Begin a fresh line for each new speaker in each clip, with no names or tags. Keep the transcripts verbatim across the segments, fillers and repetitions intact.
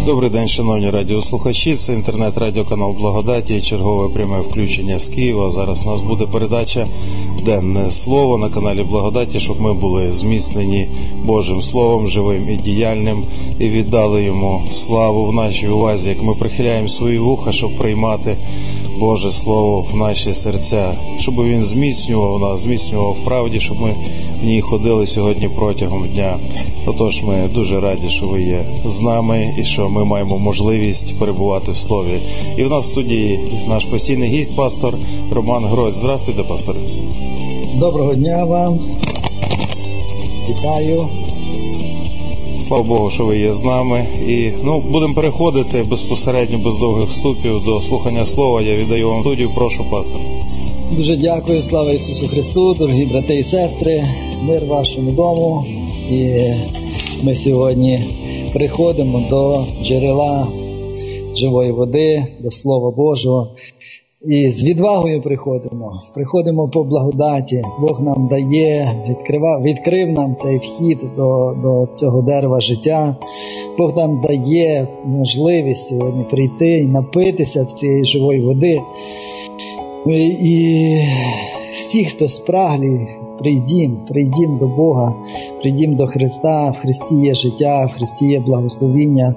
Добрий день, шановні радіослухачі. Це інтернет-радіоканал Благодаті і чергове пряме включення з Києва. Зараз у нас буде передача «Денне слово» на каналі Благодаті, щоб ми були зміцнені Божим Словом, живим і діяльним, і віддали йому славу в нашій увазі, як ми прихиляємо свої вуха, щоб приймати Боже Слово в наші серця, щоб він зміцнював нас, зміцнював в правді, щоб ми в ній ходили сьогодні протягом дня. Отож, ми дуже раді, що ви є з нами і що ми маємо можливість перебувати в Слові. І в нас в студії наш постійний гість, пастор Роман Грось. Здравствуйте, пастор.
Доброго дня вам. Вітаю.
Слава Богу, що ви є з нами. І ну, будемо переходити безпосередньо, без довгих вступів, до слухання слова. Я віддаю вам студію. Прошу, пастор.
Дуже дякую. Слава Ісусу Христу, дорогі брати і сестри. Мир вашому дому. І ми сьогодні приходимо до джерела живої води, до Слова Божого. І з відвагою приходимо. Приходимо по благодаті. Бог нам дає, відкрива, відкрив нам цей вхід до, до цього дерева життя. Бог нам дає можливість сьогодні прийти і напитися цієї живої води. І, і всі, хто спраглі, прийдім, прийдім до Бога, прийдім до Христа. В Христі є життя, в Христі є благословіння.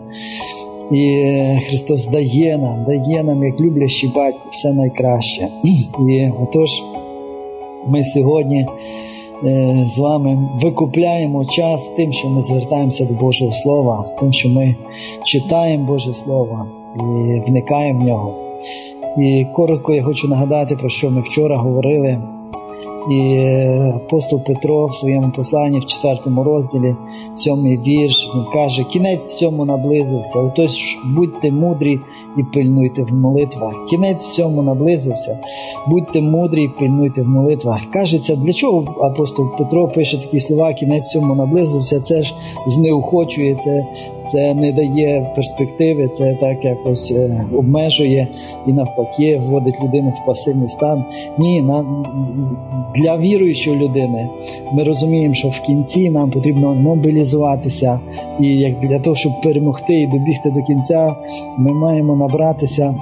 І Христос дає нам, дає нам, як люблячий батько, все найкраще. І отож, ми сьогодні е, з вами викупляємо час тим, що ми звертаємося до Божого Слова, тим, що ми читаємо Боже Слово і вникаємо в нього. І коротко я хочу нагадати, про що ми вчора говорили. І апостол Петро в своєму посланні в четвертому розділі, сьомий вірш, він каже: кінець всьому наблизився, отож будьте мудрі і пильнуйте в молитвах. Кінець всьому наблизився, будьте мудрі і пильнуйте в молитвах. Кажеться, для чого апостол Петро пише такі слова: кінець всьому наблизився? Це ж знеохочує, це, це не дає перспективи, це так якось е, обмежує і навпаки вводить людину в пасивний стан. Ні, на, для віруючої людини ми розуміємо, що в кінці нам потрібно мобілізуватися, і як для того, щоб перемогти і добігти до кінця, ми маємо набратися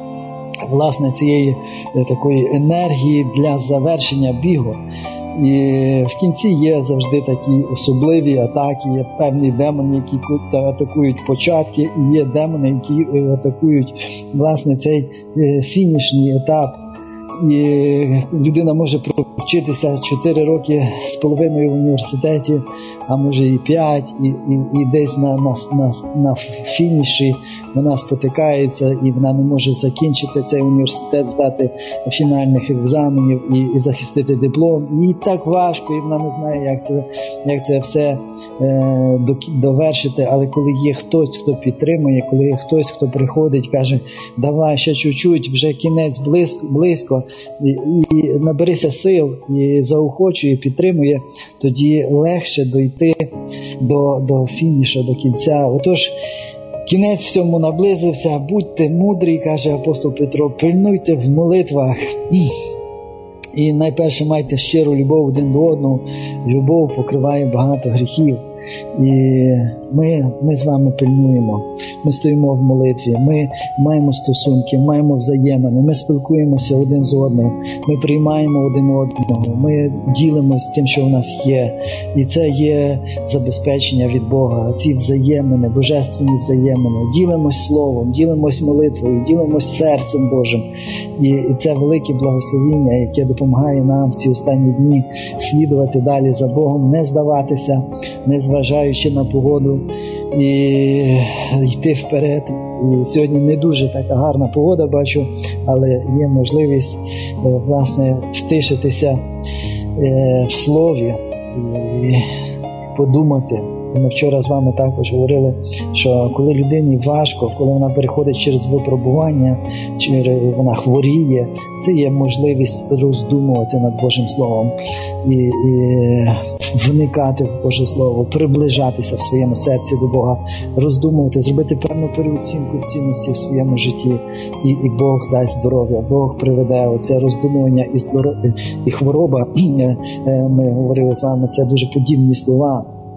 власне цієї такої енергії для завершення бігу. І в кінці є завжди такі особливі атаки, є певні демони, які атакують початки, і є демони, які атакують власне цей фінішний етап. І людина може провчитися чотири роки з половиною в університеті, а може і п'ять, і, і, і десь на, на, на, на фініші вона спотикається, і вона не може закінчити цей університет, здати фінальних екзаменів і, і захистити диплом. І так важко, і вона не знає, як це, як це все е, довершити. Але коли є хтось, хто підтримує, коли є хтось, хто приходить, каже: давай ще чуть-чуть, вже кінець близько, близько, і, і наберися сил, і заохочує, підтримує, тоді легше дойти до, до фінішу, до кінця. Отож, кінець всьому наблизився, будьте мудрі, каже апостол Петро, пильнуйте в молитвах. І найперше майте щиру любов один до одного. Любов покриває багато гріхів. І ми, ми з вами пильнуємо, ми стоїмо в молитві, ми маємо стосунки, маємо взаємини, ми спілкуємося один з одним, ми приймаємо один одного, ми ділимося тим, що в нас є. І це є забезпечення від Бога, ці взаємини, божественні взаємини. Ділимось словом, ділимось молитвою, ділимось серцем Божим. І, і це велике благословіння, яке допомагає нам в ці останні дні слідувати далі за Богом, не здаватися, не зважаючи на погоду, і йти вперед. І сьогодні не дуже така гарна погода, бачу, але є можливість, власне, втишитися в слові і подумати. Ми вчора з вами також говорили, що коли людині важко, коли вона переходить через випробування, чи вона хворіє, це є можливість роздумувати над Божим Словом і, і вникати в Боже Слово, приближатися в своєму серці до Бога, роздумувати, зробити певну переоцінку цінності в своєму житті, і, і Бог дасть здоров'я, Бог приведе оце роздумування і здоров'я, і хвороба. Ми говорили з вами, це дуже подібні слова.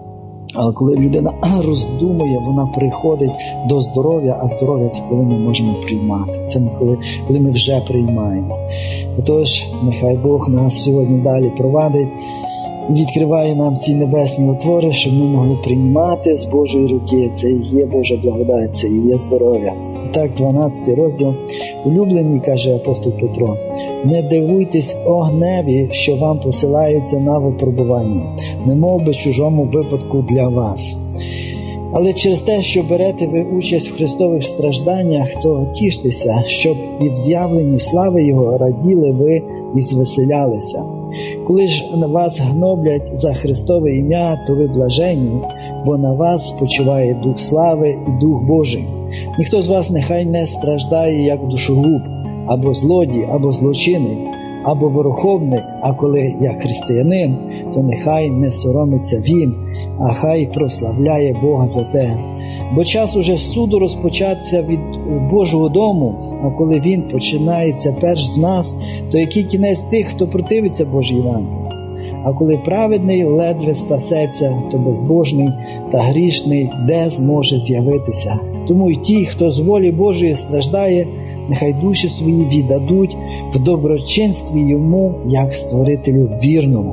Але коли людина роздумує, вона приходить до здоров'я, а здоров'я – це коли ми можемо приймати. Це коли, коли ми вже приймаємо. Отож, нехай Бог нас сьогодні далі провадить і відкриває нам ці небесні отвори, щоб ми могли приймати з Божої руки. Це і є Божа благодать, це і є здоров'я. І так, дванадцятий розділ. Улюблені, каже апостол Петро, не дивуйтесь огневі, що вам посилається на випробування, немов би чужому випадку для вас. Але через те, що берете ви участь в Христових стражданнях, то тіштеся, щоб і в з'явленні слави Його раділи ви і звеселялися. Коли ж на вас гноблять за Христове ім'я, то ви блаженні, бо на вас спочиває Дух слави і Дух Божий. Ніхто з вас нехай не страждає, як душогуб, або злодій, або злочинець, або ворохобник, а коли як християнин, то нехай не соромиться він, а хай прославляє Бога за те. Бо час уже суду розпочатися від Божого дому, а коли він починається перш з нас, то який кінець тих, хто противиться Божій Євангелії? А коли праведний ледве спасеться, то безбожний та грішний де зможе з'явитися? Тому й ті, хто з волі Божої страждає, нехай душі свої віддадуть в доброчинстві йому, як створителю вірному.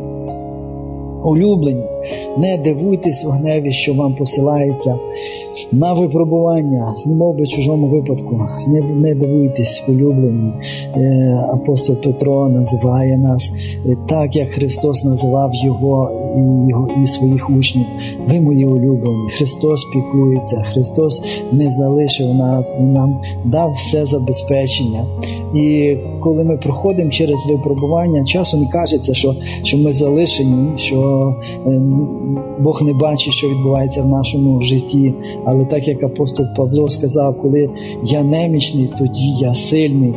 Улюблені, не дивуйтесь огневі, що вам посилається на випробування, немов би чужому випадку. Не, не дивуйтесь, улюблені. Е, апостол Петро називає нас е, так, як Христос називав його і, його і своїх учнів. Ви мої улюблені. Христос піклується, Христос не залишив нас, Він нам дав все забезпечення. І коли ми проходимо через випробування, часом кажеться, що, що ми залишені, що е, Бог не бачить, що відбувається в нашому житті. Але так, як апостол Павло сказав, коли я немічний, тоді я сильний.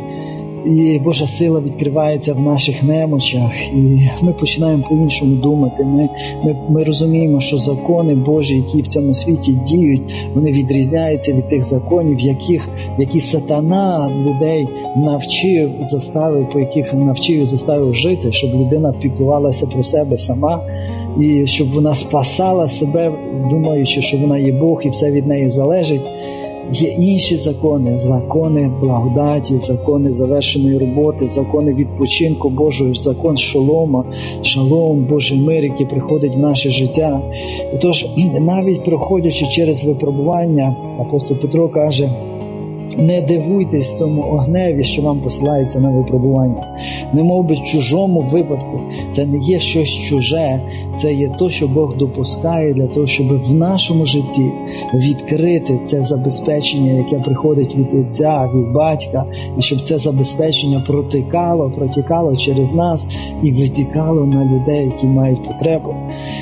І Божа сила відкривається в наших немочах, і ми починаємо по-іншому думати. Ми, ми, ми розуміємо, що закони Божі, які в цьому світі діють, вони відрізняються від тих законів, яких, які сатана людей навчив, заставив, по яких навчив і заставив жити, щоб людина піклувалася про себе сама, і щоб вона спасала себе, думаючи, що вона є Бог і все від неї залежить. Є інші закони, закони благодаті, закони завершеної роботи, закони відпочинку Божого, закон шалома, шалом, Божий мир, який приходить в наше життя. Тож, навіть проходячи через випробування, апостол Петро каже, не дивуйтесь тому огневі, що вам посилається на випробування. Не мов би чужому випадку. Це не є щось чуже. Це є то, що Бог допускає для того, щоб в нашому житті відкрити це забезпечення, яке приходить від Отця, від Батька, і щоб це забезпечення протікало, протікало через нас і витікало на людей, які мають потребу.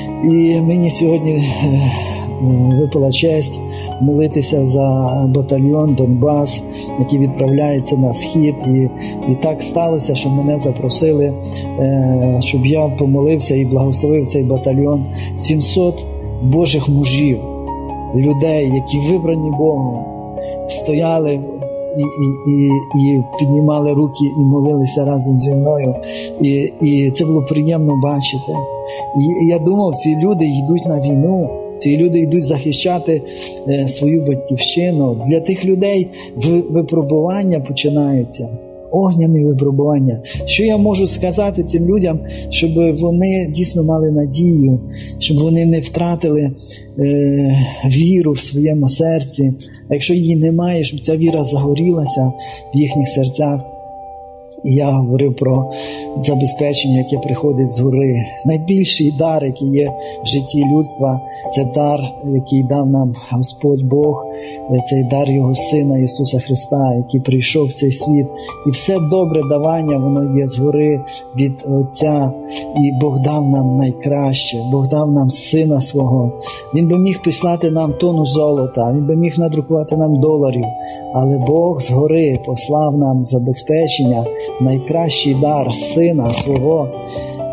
І мені сьогодні випала честь молитися за батальйон Донбас, який відправляється на схід. І, і так сталося, що мене запросили, е, щоб я помолився і благословив цей батальйон. сімсот Божих мужів, людей, які вибрані Богом, стояли і, і, і, і піднімали руки і молилися разом зі мною. І, і це було приємно бачити. І, і я думав, ці люди йдуть на війну. Ці люди йдуть захищати е, свою батьківщину. Для тих людей випробування починаються. Огняні випробування. Що я можу сказати цим людям, щоб вони дійсно мали надію, щоб вони не втратили е, віру в своєму серці. А якщо її немає, щоб ця віра загорілася в їхніх серцях. І я говорив про забезпечення, яке приходить згори. Найбільший дар, який є в житті людства, це дар, який дав нам Господь Бог, цей дар Його Сина Ісуса Христа, який прийшов в цей світ. І все добре давання, воно є згори від Отця. І Бог дав нам найкраще, Бог дав нам Сина Свого. Він би міг прислати нам тонну золота, Він би міг надрукувати нам доларів. Але Бог згори послав нам забезпечення, найкращий дар Сина Свого.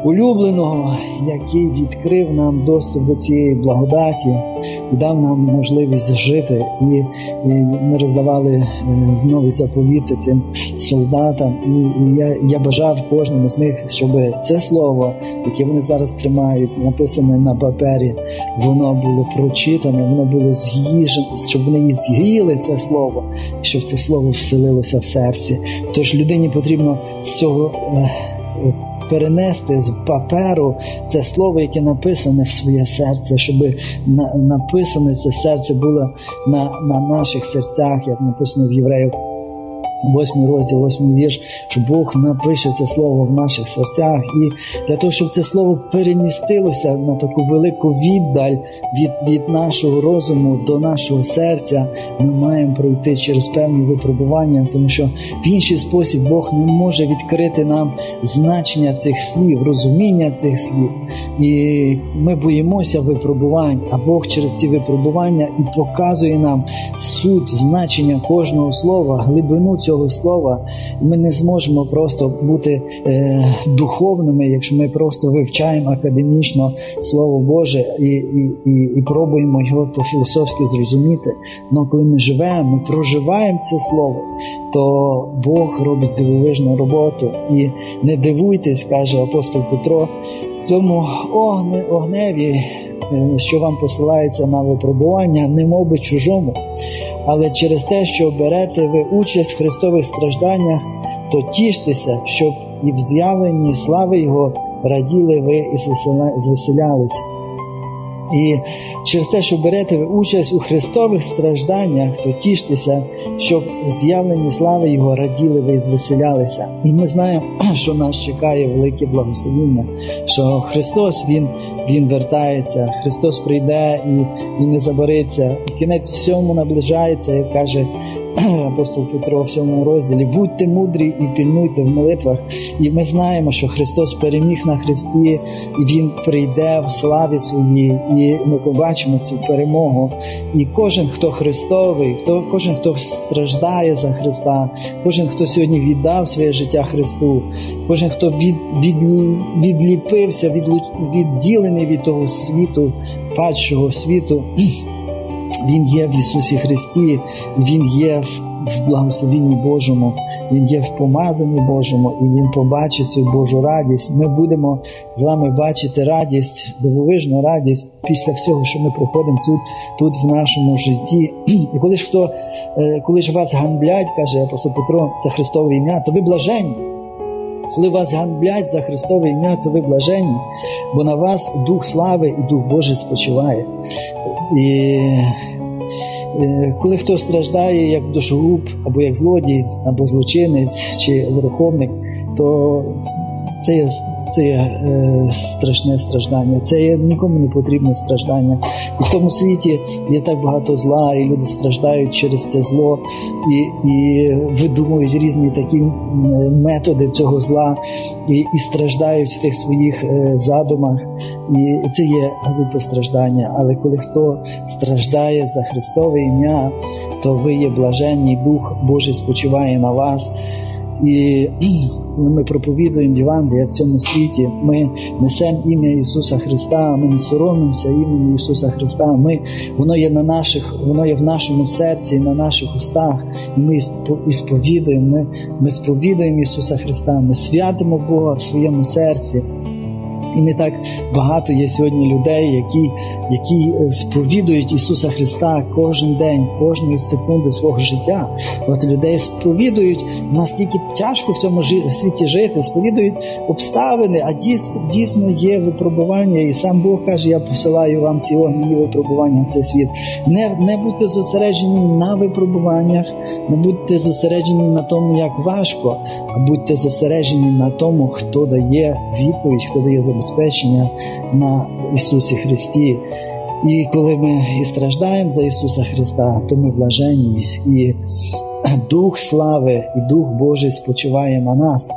улюбленого, який відкрив нам доступ до цієї благодаті і дав нам можливість жити. І, і ми роздавали нові заповіти цим солдатам. І, і я, я бажав кожному з них, щоб це слово, яке вони зараз тримають, написане на папері, воно було прочитане, воно було з'їжене, щоб вони з'їли це слово, щоб це слово вселилося в серці. Тож людині потрібно з цього е, перенести з паперу це слово, яке написане в своє серце, щоб на, написане це серце було на, на наших серцях, як написано в Євреїв восьмий розділ, восьмий вірш, що Бог напише це слово в наших серцях. І для того, щоб це слово перемістилося на таку велику віддаль від, від нашого розуму до нашого серця, ми маємо пройти через певні випробування, тому що в інший спосіб Бог не може відкрити нам значення цих слів, розуміння цих слів. І ми боїмося випробувань, а Бог через ці випробування і показує нам суть, значення кожного слова, глибину цього слова. Ми не зможемо просто бути е, духовними, якщо ми просто вивчаємо академічно Слово Боже і, і, і, і пробуємо його по-філософськи зрозуміти. Але коли ми живемо, ми проживаємо це Слово, то Бог робить дивовижну роботу. І не дивуйтесь, каже апостол Петро, цьому огне, огневі, що вам посилається на випробування, немов би чужому, але через те, що берете ви участь в Христових стражданнях, то тіштеся, щоб і в з'явленні слави Його раділи ви і звеселялись. І через те, що берете ви участь у Христових стражданнях, то тіштеся, щоб у з'явленні слави Його раділи ви і звеселялися. І ми знаємо, що нас чекає велике благословення, що Христос, Він, Він вертається, Христос прийде і, і не забариться. І кінець всьому наближається, як каже апостол Петро в сьомому розділі, будьте мудрі і пильнуйте в молитвах. І ми знаємо, що Христос переміг на хресті, і Він прийде в славі своїй, і ми побачимо цю перемогу. І кожен, хто Христовий, хто, кожен, хто страждає за Христа, кожен, хто сьогодні віддав своє життя Христу, кожен, хто від, від, відліпився, від, відділений від того світу, падшого світу, Він є в Ісусі Христі, і Він є в благословенні Божому, Він є в помазанні Божому, і Він побачить цю Божу радість. Ми будемо з вами бачити радість, дивовижну радість після всього, що ми проходимо тут, тут в нашому житті. І коли ж, хто, коли ж вас ганблять, каже апостол Петро, це Христове ім'я, то ви блаженні. Коли вас ганблять за Христове ім'я, то ви блаженні, бо на вас Дух слави і Дух Божий спочиває. І коли хто страждає як душогуб, або як злодій, або злочинець, чи верховник, то це є, це є е, страшне страждання, це є нікому не потрібне страждання. І в тому світі є так багато зла, і люди страждають через це зло, і, і видумують різні такі методи цього зла, і, і страждають в тих своїх е, задумах. І це є глупе страждання. Але коли хто страждає за Христове ім'я, то ви є блаженні, Дух Божий спочиває на вас. І коли ми проповідуємо Євангелія в цьому світі, ми несемо ім'я Ісуса Христа, ми не соромимося імені Ісуса Христа, ми, воно є на наших, воно є в нашому серці, на наших устах, і ми і сповідуємо, ми, ми сповідуємо Ісуса Христа, ми святимо Бога в своєму серці. І не так багато є сьогодні людей, які, які сповідують Ісуса Христа кожен день, кожної секунди свого життя. От людей сповідують, наскільки тяжко в цьому світі жити, сповідують обставини, а дійсно, дійсно є випробування. І сам Бог каже, я посилаю вам ці огненні випробування в цей світ. Не, не будьте зосереджені на випробуваннях, не будьте зосереджені на тому, як важко, а будьте зосереджені на тому, хто дає відповідь, хто дає забезпечення на Ісусі Христі. І коли ми і страждаємо за Ісуса Христа, то ми блаженні, і Дух слави, і Дух Божий спочиває на нас.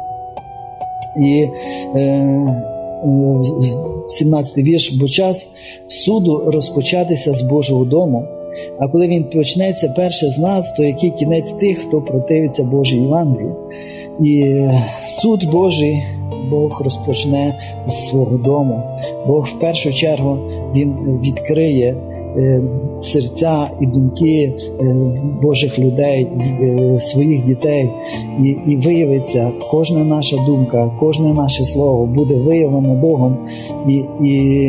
І е, е, сімнадцятий вірш, бо час суду розпочатися з Божого дому, а коли він почнеться перше з нас, то який кінець тих, хто противиться Божій Євангелії? І суд Божий Бог розпочне з свого дому. Бог в першу чергу Він відкриє серця і думки Божих людей, своїх дітей, і, і виявиться кожна наша думка, кожне наше слово буде виявлено Богом. І, і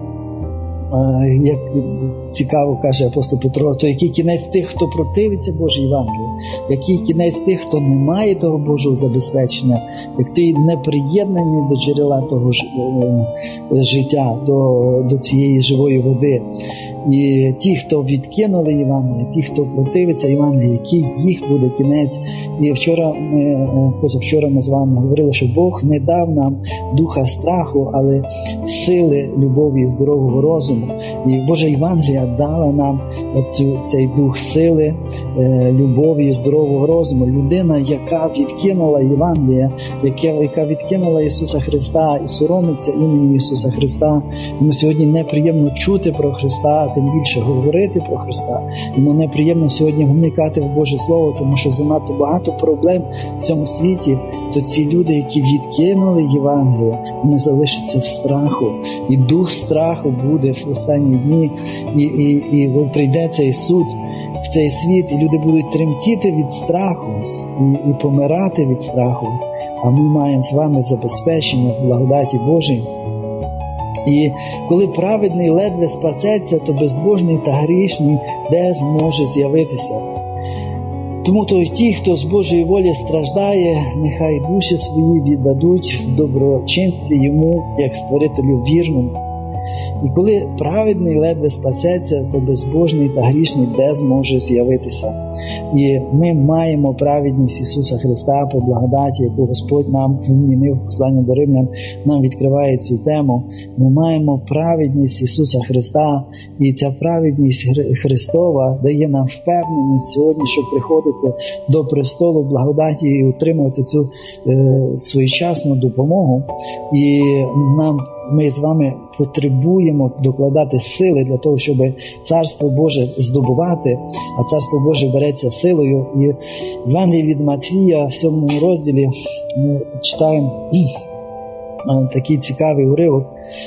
як цікаво каже апостол Петро, то який кінець тих, хто противиться Божій Євангелії, який кінець тих, хто не має того Божого забезпечення, як той не приєднаний до джерела того ж, е, життя, до, до цієї живої води. І ті, хто відкинули Євангелія, ті, хто противиться Євангелію, який їх буде кінець. І вчора ми, позавчора ми з вами говорили, що Бог не дав нам духа страху, але сили, любові і здорового розуму. І Божа Євангелія дала нам цю, цей дух сили, любові і здорового розуму. Людина, яка відкинула Євангелія, яка, яка відкинула Ісуса Христа і соромиться імені Ісуса Христа, йому сьогодні неприємно чути про Христа, тим більше говорити про Христа. Йому неприємно сьогодні вникати в Боже Слово, тому що занадто багато проблем в цьому світі. То ці люди, які відкинули Євангелію, вони залишаться в страху. І дух страху буде в останні дні, і, і, і прийде цей суд в цей світ, і люди будуть тремтіти від страху і, і помирати від страху. А ми маємо з вами забезпечення в благодаті Божій. І коли праведний ледве спасеться, то безбожний та грішний де зможе з'явитися. Тому то й ті, хто з Божої волі страждає, нехай душі свої віддадуть в доброчинстві йому, як створителю вірному. І коли праведний ледве спасеться, то безбожний та грішний де зможе з'явитися. І ми маємо праведність Ісуса Христа по благодаті, яку Господь нам вмінив в посланні до Римлян, нам відкриває цю тему. Ми маємо праведність Ісуса Христа, і ця праведність Христова дає нам впевненість сьогодні, щоб приходити до престолу благодаті і отримувати цю е, своєчасну допомогу. І нам ми з вами потребуємо докладати сили для того, щоб Царство Боже здобувати, а Царство Боже береться силою. І в Євангелії від Матвія, в сьомому розділі, ми читаємо такий цікавий уривок,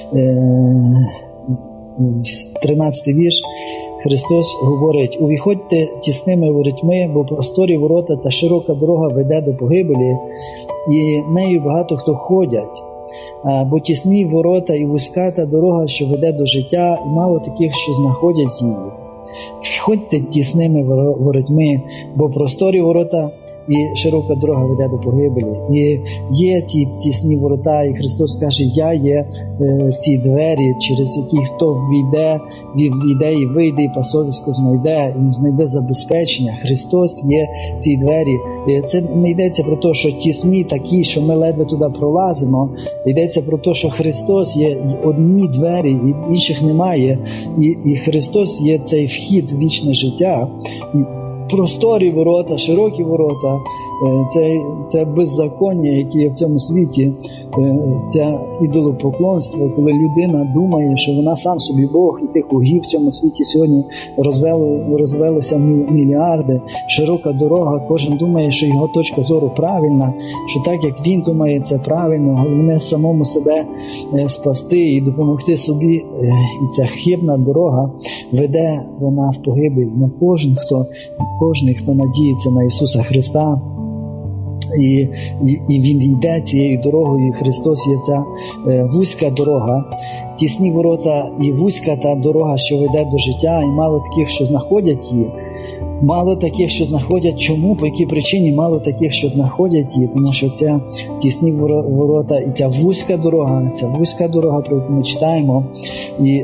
тринадцятий вірш. Христос говорить: «Увіходьте тісними воротьми, бо просторі ворота та широка дорога веде до погибелі, і нею багато хто ходять. Бо тісні ворота і вузька та дорога, що веде до життя, і мало таких, що знаходять її. Входьте тісними воротьми, бо просторі ворота і широка дорога веде до погибелі». І є ті тісні ворота, і Христос каже: «Я є е, ці двері, через які хто війде, війде і вийде, і пасовисько знайде, і знайде забезпечення». Христос є ці двері. І це не йдеться про те, що тісні такі, що ми ледве туди пролазимо. Йдеться про те, що Христос є одні двері, і інших немає. І, і Христос є цей вхід в вічне життя. І просторі ворота, широкі ворота, це, це беззаконня, яке є в цьому світі, це ідолопоклонство, коли людина думає, що вона сам собі Бог, і тих угів в цьому світі сьогодні розвело, розвелося мільярди. Широка дорога, кожен думає, що його точка зору правильна, що так, як він думає, це правильно, головне самому себе спасти і допомогти собі. І ця хибна дорога веде вона в погибель. Но кожен, хто, кожен, хто надіється на Ісуса Христа, І, і, і Він йде цією дорогою, і Христос є ця е, вузька дорога, тісні ворота і вузька та дорога, що веде до життя, і мало таких, що знаходять її. Мало таких, що знаходять. Чому? По якій причині мало таких, що знаходять її? Тому що ця тісні ворота і ця вузька дорога, ця вузька дорога, про яку ми читаємо, і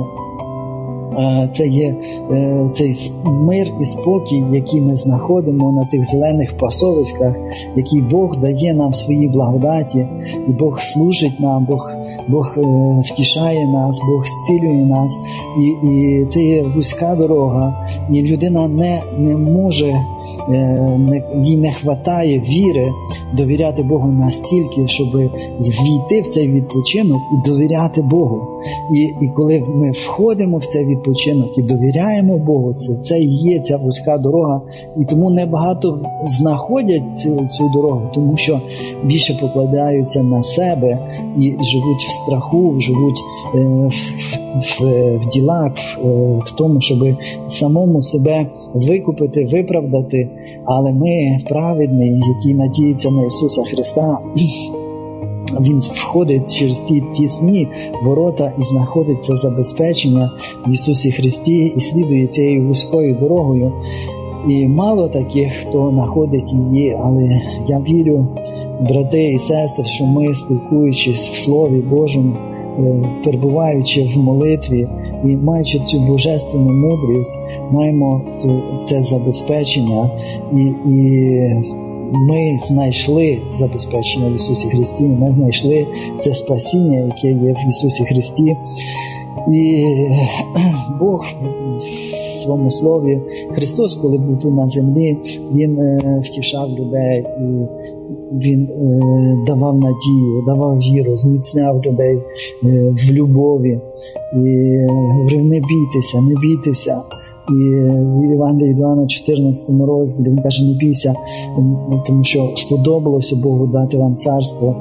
це є цей мир і спокій, який ми знаходимо на тих зелених пасовиськах, який Бог дає нам в своїй благодаті, і Бог служить нам, Бог, Бог втішає нас, Бог зцілює нас, і, і це є вузька дорога, і людина не, не може не, їй не вистачає віри довіряти Богу настільки, щоб війти в цей відпочинок і довіряти Богу. І, і коли ми входимо в цей відпочинок і довіряємо Богу, це, це і є ця вузька дорога. І тому небагато знаходять цю, цю дорогу, тому що більше покладаються на себе і живуть в страху, живуть е, в, в, в ділах, в, в тому, щоб самому себе викупити, виправдати. Але ми, праведні, які надіються на Ісуса Христа, Він входить через ті тісні ворота і знаходить це забезпечення в Ісусі Христі і слідує цією вузькою дорогою. І мало таких, хто знаходить її, але я вірю, брати і сестри, що ми, спілкуючись в Слові Божому, перебуваючи в молитві і маючи цю божественну мудрість, маємо цю, це забезпечення і, і ми знайшли забезпечення в Ісусі Христі, ми знайшли це спасіння, яке є в Ісусі Христі. І Бог в своєму слові, Христос, коли був тут на землі, Він е, втішав людей, і Він е, давав надію, давав віру, зміцняв людей е, в любові. І говорив, не бійтеся, не бійтеся. І в Євангелії від Івана чотирнадцятому розділі Він каже, не бійся, тому що сподобалося Богу дати вам царство.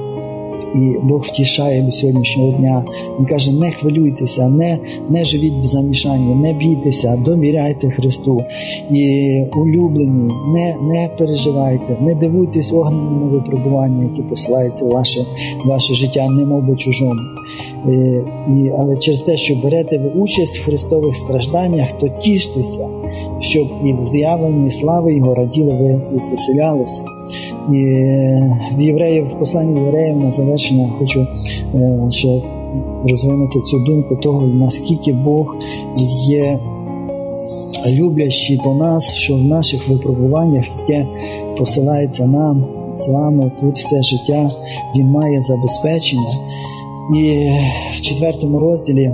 І Бог втішає до сьогоднішнього дня. Він каже, не хвилюйтеся, не, не живіть в замішанні, не бійтеся, довіряйте Христу. І улюблені, не, не переживайте, не дивуйтесь огненному випробуванню, яке посилається в ваше, ваше життя, немов би чужому. І, і, але через те, що берете ви участь в Христових стражданнях, то тіштеся, щоб і в з'явленні слави Його раділи ви і звеселялися. І в євреїв, в посланні євреїв на завершення хочу е, ще розвинути цю думку того, наскільки Бог є люблячий до нас, що в наших випробуваннях, яке посилається нам з вами тут все життя, Він має забезпечення. І в четвертому розділі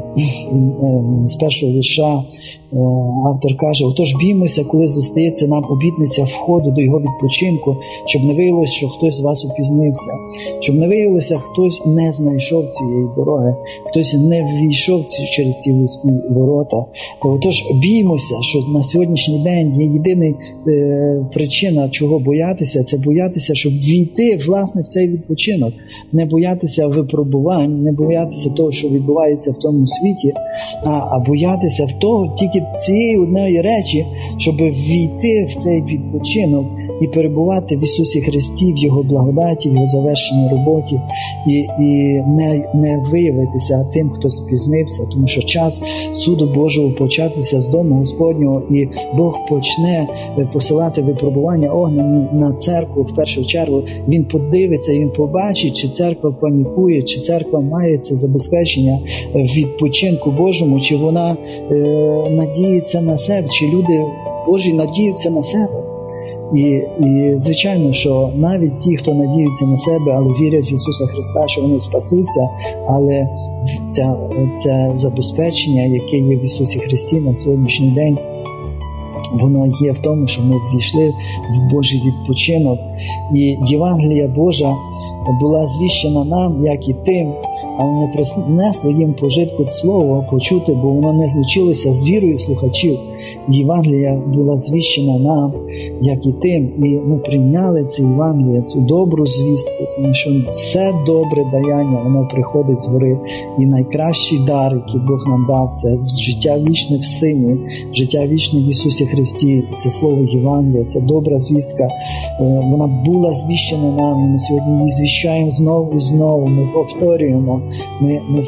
з першого вірша автор каже, отож біймося, коли зостається нам обітниця входу до його відпочинку, щоб не виявилося, що хтось з вас упізнився, щоб не виявилося, хтось не знайшов цієї дороги, хтось не ввійшов через ці вузькі ворота. Отож біймося, що на сьогоднішній день є єдина е, причина, чого боятися, це боятися, щоб війти, власне, в цей відпочинок, не боятися випробувань, не боятися того, що відбувається в тому світі, а, а боятися в того, тільки цієї одної речі, щоб ввійти в цей відпочинок і перебувати в Ісусі Христі, в Його благодаті, в Його завершеній роботі, і, і не, не виявитися тим, хто спізнився, тому що час суду Божого початися з дому Господнього, і Бог почне посилати випробування огнені на церкву в першу чергу. Він подивиться і Він побачить, чи церква панікує, чи церква має це забезпечення в відпочинку Божому, чи вона е, надіється на себе, чи люди Божі надіються на себе. І, і звичайно, що навіть ті, хто надіються на себе, але вірять в Ісуса Христа, що вони спасуться, але це, це забезпечення, яке є в Ісусі Христі на сьогоднішній день, воно є в тому, що ми ввійшли в Божий відпочинок. І Євангелія Божа була звіщена нам, як і тим, але не принесло їм пожитку слово почути, бо воно не злучилося з вірою слухачів. Євангелія була звіщена нам, як і тим, і ми прийняли це Євангеліє, цю добру звістку, тому що все добре даяння, воно приходить з гори. І найкращий дар, який Бог нам дав, це життя вічне в Сині, життя вічне в Ісусі Христі, і це слово Євангелія, це добра звістка. Вона була звіщена нам, і ми сьогодні її звіщаємо знову і знову, ми повторюємо, ми, ми,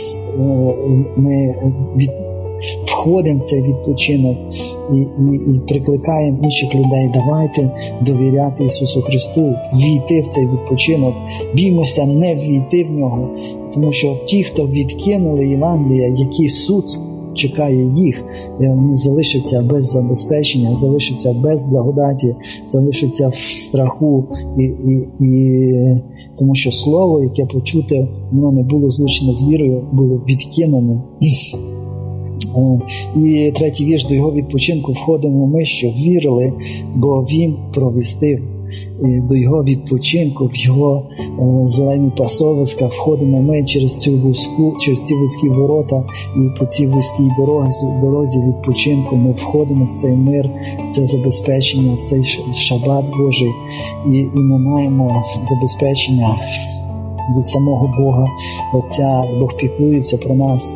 ми від, входимо в цей відпочинок і, і, і прикликаємо інших людей, давайте довіряти Ісусу Христу, ввійти в цей відпочинок, біймося не ввійти в нього, тому що ті, хто відкинули Євангелія, який суд чекає їх, вони залишаться без забезпечення, залишаться без благодаті, залишаться в страху, і, і, і тому що слово, яке почуте, воно не було злучене з вірою, було відкинене. І третій вірш: до його відпочинку входимо ми, що вірили, бо він провістив. До його відпочинку, в його е, зелені пасовиська входимо ми через цю вузьку, через ці вузькі ворота, і по цій вузькій дорозі, дорозі відпочинку ми входимо в цей мир, в це забезпечення, в цей шабат Божий, і, і ми маємо забезпечення від самого Бога Отця. Бог піклується про нас.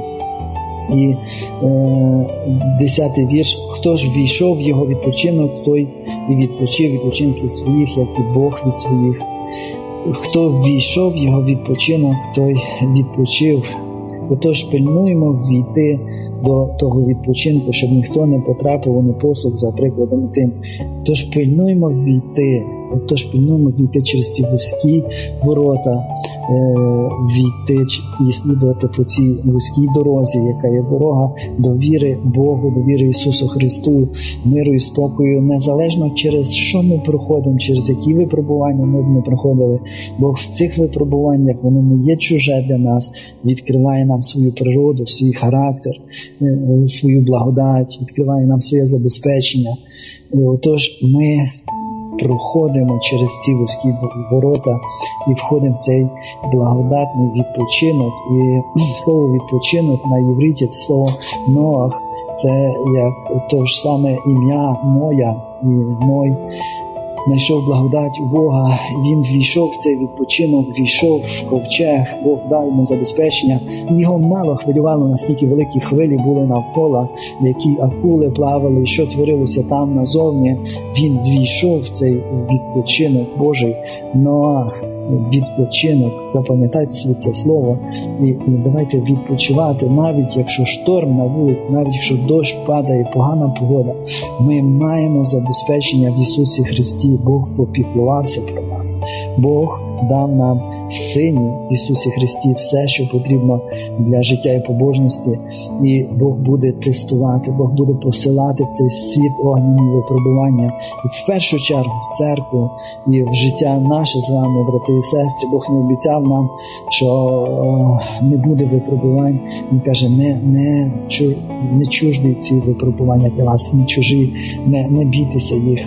І е, десятий вірш: хто ж війшов в його відпочинок, той і відпочив відпочинки своїх, як і Бог від своїх. Хто війшов в його відпочинок, той відпочив. Отож пильнуємо ввійти до того відпочинку, щоб ніхто не потрапив у непослух за прикладом тим. Тож пильнуємо ввійти, Тож пильнуємо війти через ці вузькі ворота, війти і слідувати по цій вузькій дорозі, яка є дорога до віри Богу, до віри Ісусу Христу, миру і спокою, незалежно через що ми проходимо, через які випробування ми б не проходили. Бог в цих випробуваннях, воно не є чуже для нас, відкриває нам свою природу, свій характер, свою благодать, відкриває нам своє забезпечення. Отож, ми проходимо через ці вузькі ворота і входимо в цей благодатний відпочинок. І слово «відпочинок» на євриті – це слово «ноах», це як то ж саме ім'я Ноя, і Ной знайшов благодать у Бога, він ввійшов в цей відпочинок, ввійшов в ковчег, Бог дав йому забезпечення. Його мало хвилювало, наскільки великі хвилі були навколо, які акули плавали, що творилося там назовні. Він ввійшов в цей відпочинок Божий. Ноах, відпочинок, запам'ятайте собі це слово, і, і давайте відпочивати, навіть якщо шторм на вулиці, навіть якщо дощ падає, погана погода, ми маємо забезпечення в Ісусі Христі. Бог попіклувався про нас. Бог дав нам в Сині Ісусі Христі все, що потрібно для життя і побожності, і Бог буде тестувати, Бог буде посилати в цей світ огняні випробування. І в першу чергу в церкву і в життя наше з вами, брати і сестри. Бог не обіцяв нам, що о, не буде випробувань. Він каже, не, не, чу, не чужді ці випробування для вас, не чужі, не, не бійтеся їх.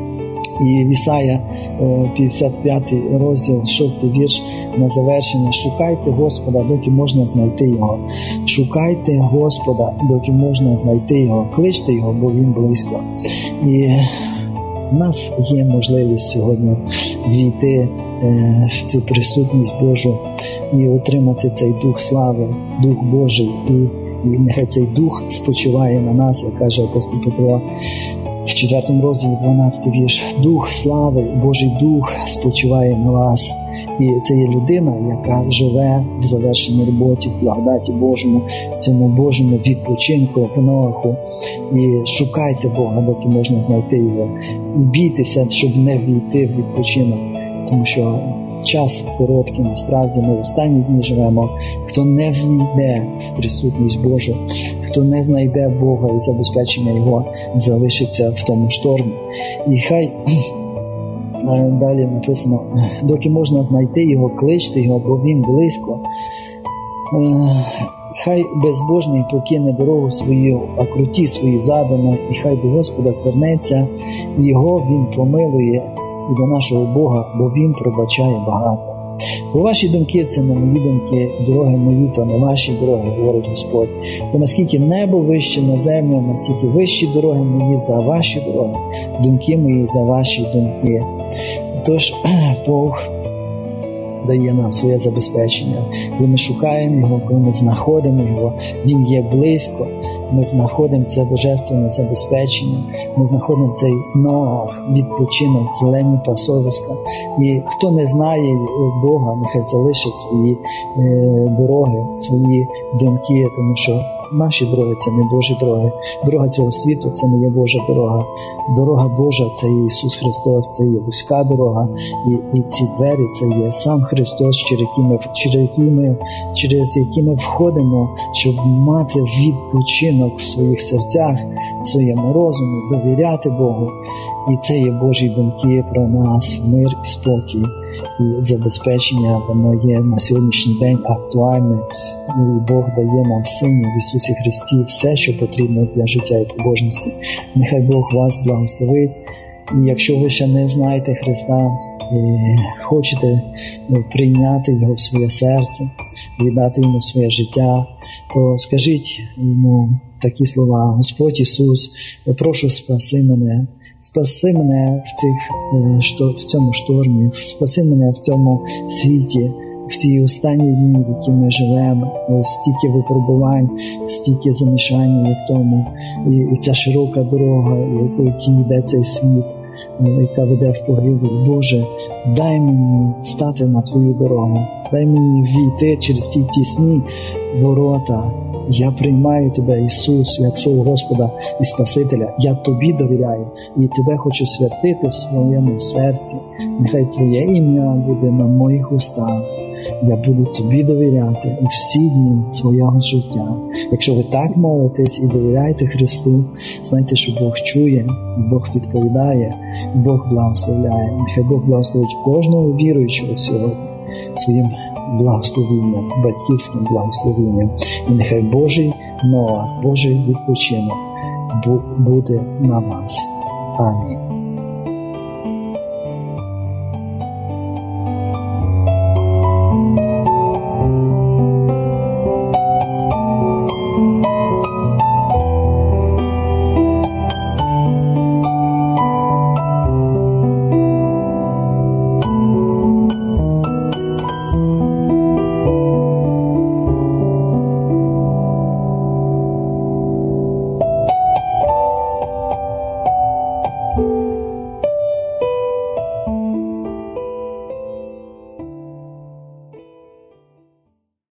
І в Ісая п'ятдесят п'ятий розділ, шостий вірш на завершення: шукайте Господа, доки можна знайти Його. Шукайте Господа, доки можна знайти Його. Кличте Його, бо Він близько. І в нас є можливість сьогодні війти в цю присутність Божу і отримати цей Дух слави, Дух Божий. І, і нехай цей Дух спочиває на нас, як каже апостол Петро в четвертому розділі, дванадцятий вірш. Дух слави, Божий Дух спочиває на вас. І це є людина, яка живе в завершеній роботі, в благодаті Божому, в цьому Божому відпочинку, в Ноаху. І шукайте Бога, доки можна знайти Його. І бійтеся, щоб не війти в відпочинок. Тому що час короткий, насправді ми в останні дні живемо. Хто не війде в присутність Божу, хто не знайде Бога і забезпечення Його, залишиться в тому штормі. І хай далі написано, доки можна знайти Його, кличте Його, бо Він близько. Хай безбожний покине дорогу свою, а круті свої задуми, і хай до Господа звернеться, Його Він помилує, і до нашого Бога, бо Він пробачає багато. Бо ваші думки – це не мої думки, дороги мої – то не ваші дороги, говорить Господь. Бо наскільки небо вище на землю, настільки вищі дороги мої за ваші дороги, думки мої за ваші думки. Тож Бог дає нам своє забезпечення. Коли ми шукаємо Його, коли ми знаходимо Його, Він є близько. Ми знаходимо це божественне забезпечення, ми знаходимо цей Ноах, відпочинок, зелені пасовиська. І хто не знає Бога, нехай залишить свої е, дороги, свої думки, тому що наші дороги – це не Божі дороги. Дорога цього світу – це не є Божа дорога. Дорога Божа – це є Ісус Христос, це є вузька дорога. І, і ці двері – це є сам Христос, через які ми, через які ми, через які ми входимо, щоб мати відпочинок в своїх серцях, в своєму розумі, довіряти Богу. І це є Божі думки про нас, мир і спокій. і забезпечення, воно є на сьогоднішній день актуальне. І Бог дає нам в Сині, в Ісусі Христі, все, що потрібно для життя і побожності. Нехай Бог вас благословить. І якщо ви ще не знаєте Христа, і хочете прийняти Його в своє серце, віддати Йому своє життя, то скажіть Йому такі слова: Господь Ісус, я прошу, спаси мене, спаси мене в, цих, в цьому штормі, спаси мене в цьому світі, в ці останні дні, в які ми живемо, стільки випробувань, стільки замішання є в тому, і, і ця широка дорога, по якій йде цей світ, яка веде в погибель. Боже, дай мені стати на Твою дорогу, дай мені війти через ті тісні ворота. Я приймаю Тебе, Ісус, як свого Господа і Спасителя. Я Тобі довіряю і Тебе хочу святити в своєму серці. Нехай Твоє ім'я буде на моїх устах. Я буду Тобі довіряти у всі дні свого життя. Якщо ви так молитесь і довіряєте Христу, знайте, що Бог чує, Бог відповідає, Бог благословляє. Нехай Бог благословить кожного віруючого сьогодні своїм благословенням, батьківським благословенням. І нехай Божий Ноах, Божий відпочинок буде на вас. Амінь.